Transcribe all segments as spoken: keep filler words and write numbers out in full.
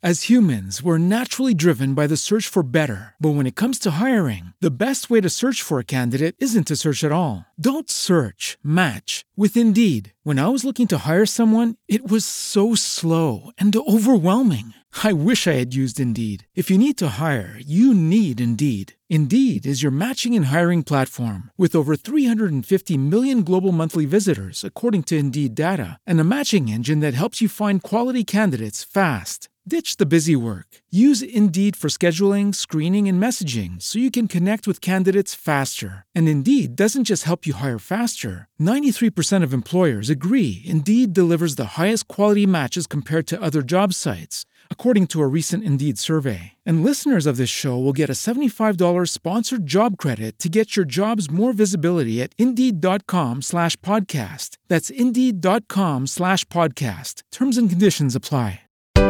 As humans, we're naturally driven by the search for better. But when it comes to hiring, the best way to search for a candidate isn't to search at all. Don't search, match with Indeed. When I was looking to hire someone, it was so slow and overwhelming. I wish I had used Indeed. If you need to hire, you need Indeed. Indeed is your matching and hiring platform with over three hundred fifty million global monthly visitors, according to Indeed data, and a matching engine that helps you find quality candidates fast. Ditch the busy work. Use Indeed for scheduling, screening, and messaging so you can connect with candidates faster. And Indeed doesn't just help you hire faster. ninety-three percent of employers agree Indeed delivers the highest quality matches compared to other job sites, according to a recent Indeed survey. And listeners of this show will get a seventy-five dollars sponsored job credit to get your jobs more visibility at Indeed.com slash podcast. That's Indeed.com slash podcast. Terms and conditions apply.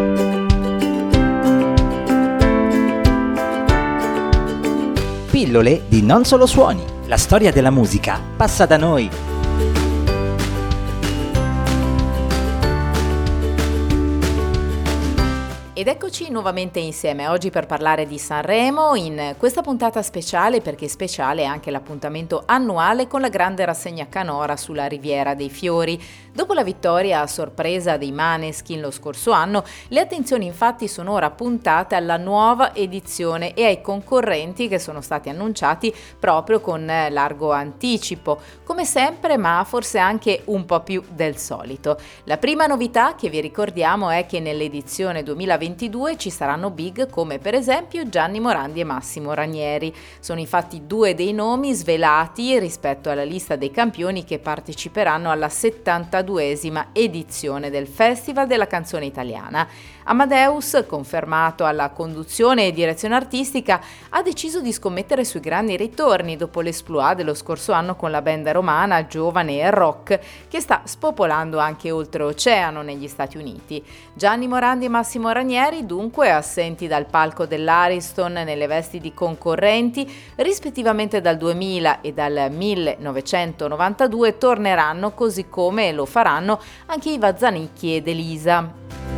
Pillole di Non Solo Suoni. La storia della musica passa da noi. Ed eccoci nuovamente insieme oggi per parlare di Sanremo in questa puntata speciale, perché speciale è anche l'appuntamento annuale con la grande rassegna canora sulla Riviera dei Fiori. Dopo la vittoria a sorpresa dei Maneskin lo scorso anno, le attenzioni infatti sono ora puntate alla nuova edizione e ai concorrenti che sono stati annunciati proprio con largo anticipo, come sempre, ma forse anche un po' più del solito. La prima novità che vi ricordiamo è che nell'edizione duemilaventidue ci saranno big come per esempio Gianni Morandi e Massimo Ranieri. Sono infatti due dei nomi svelati rispetto alla lista dei campioni che parteciperanno alla settantaduesima edizione del Festival della Canzone Italiana. Amadeus, confermato alla conduzione e direzione artistica, ha deciso di scommettere sui grandi ritorni dopo l'esploit dello scorso anno con la band romana Giovane e Rock, che sta spopolando anche oltreoceano negli Stati Uniti. Gianni Morandi e Massimo Ranieri, dunque, assenti dal palco dell'Ariston nelle vesti di concorrenti, rispettivamente dal duemila e dal millenovecentonovantadue, torneranno, così come lo faranno anche Iva Zanicchi ed Elisa.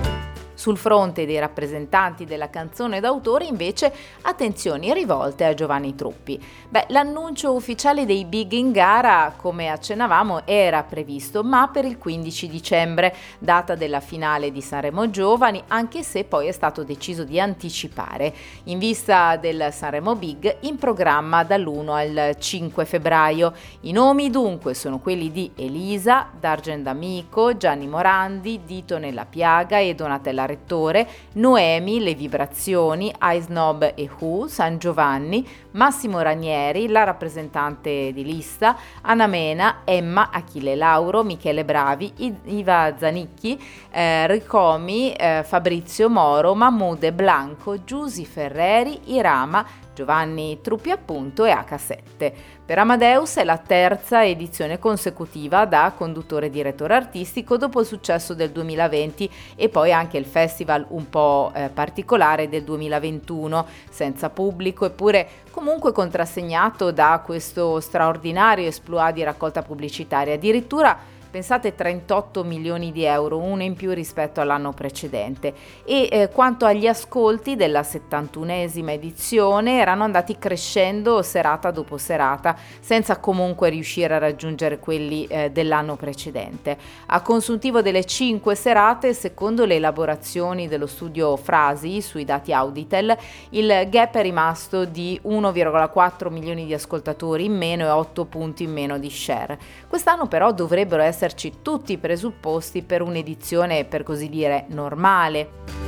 Sul fronte dei rappresentanti della canzone d'autore, invece, attenzioni rivolte a Giovanni Truppi. Beh, l'annuncio ufficiale dei big in gara, come accennavamo, era previsto, ma per il quindici dicembre, data della finale di Sanremo Giovani, anche se poi è stato deciso di anticipare, in vista del Sanremo Big in programma dall'primo al cinque febbraio. I nomi dunque sono quelli di Elisa, D'Argent D'Amico, Gianni Morandi, Dito nella Piaga e Donatella Rettore, Noemi, Le Vibrazioni, Ice Snob e Who, San Giovanni, Massimo Ranieri, la rappresentante di lista, Anna Mena, Emma, Achille Lauro, Michele Bravi, Iva Zanicchi, eh, Ricomi, eh, Fabrizio Moro, Mahmood e Blanco, Giusy Ferreri, Irama, Giovanni Truppi appunto e acca sette. Per Amadeus è la terza edizione consecutiva da conduttore e direttore artistico dopo il successo del duemilaventi e poi anche il festival un po' eh, particolare del duemilaventuno, senza pubblico eppure comunque contrassegnato da questo straordinario esploit di raccolta pubblicitaria. Addirittura pensate trentotto milioni di euro, uno in più rispetto all'anno precedente. E eh, quanto agli ascolti della settantunesima edizione, erano andati crescendo serata dopo serata, senza comunque riuscire a raggiungere quelli eh, dell'anno precedente. A consuntivo delle cinque serate, secondo le elaborazioni dello studio Frasi sui dati Auditel, il gap è rimasto di uno virgola quattro milioni di ascoltatori in meno e otto punti in meno di share. Quest'anno però dovrebbero essere esserci tutti i presupposti per un'edizione, per così dire, normale.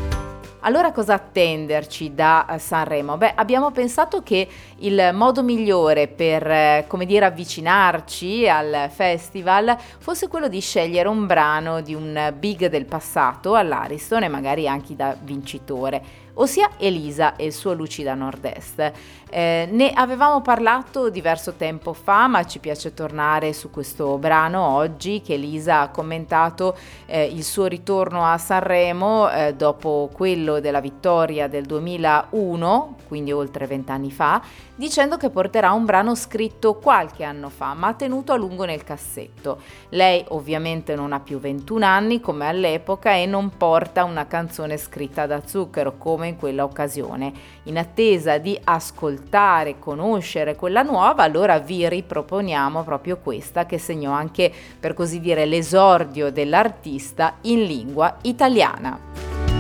Allora cosa attenderci da Sanremo? Beh, abbiamo pensato che il modo migliore per, come dire, avvicinarci al festival fosse quello di scegliere un brano di un big del passato all'Ariston e magari anche da vincitore. ossia Elisa e il suo Lucida Nord-Est. Eh, ne avevamo parlato diverso tempo fa, ma ci piace tornare su questo brano oggi, che Elisa ha commentato eh, il suo ritorno a Sanremo eh, dopo quello della vittoria del duemilauno, quindi oltre vent'anni fa, dicendo che porterà un brano scritto qualche anno fa, ma tenuto a lungo nel cassetto. Lei ovviamente non ha più ventuno anni come all'epoca e non porta una canzone scritta da zucchero come in quella occasione. In attesa di ascoltare, conoscere quella nuova, allora vi riproponiamo proprio questa che segnò anche, per così dire, l'esordio dell'artista in lingua italiana.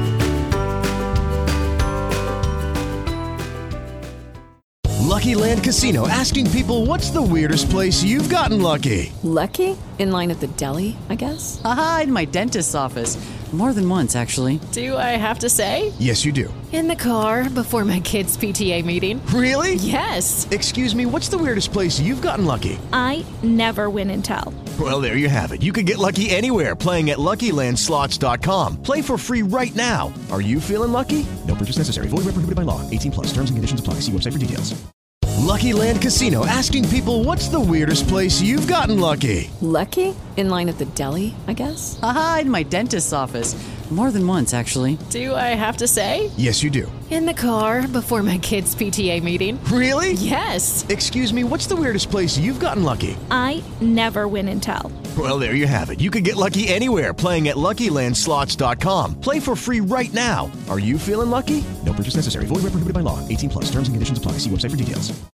Lucky Land Casino, asking people, what's the weirdest place you've gotten lucky? Lucky? In line at the deli, I guess? Aha, in my dentist's office. More than once, actually. Do I have to say? Yes, you do. In the car before my kids' P T A meeting. Really? Yes. Excuse me, what's the weirdest place you've gotten lucky? I never win and tell. Well, there you have it. You can get lucky anywhere, playing at Lucky Land Slots dot com. Play for free right now. Are you feeling lucky? No purchase necessary. Void where prohibited by law. eighteen plus. Terms and conditions apply. See website for details. Lucky Land Casino, asking people, what's the weirdest place you've gotten lucky? Lucky? In line at the deli, I guess? Aha, in my dentist's office. More than once, actually. Do I have to say? Yes, you do. In the car before my kids' P T A meeting. Really? Yes. Excuse me, what's the weirdest place you've gotten lucky? I never win and tell. Well, there you have it. You can get lucky anywhere, playing at Lucky Land Slots dot com. Play for free right now. Are you feeling lucky? No purchase necessary. Void where prohibited by law. eighteen plus. Terms and conditions apply. See website for details.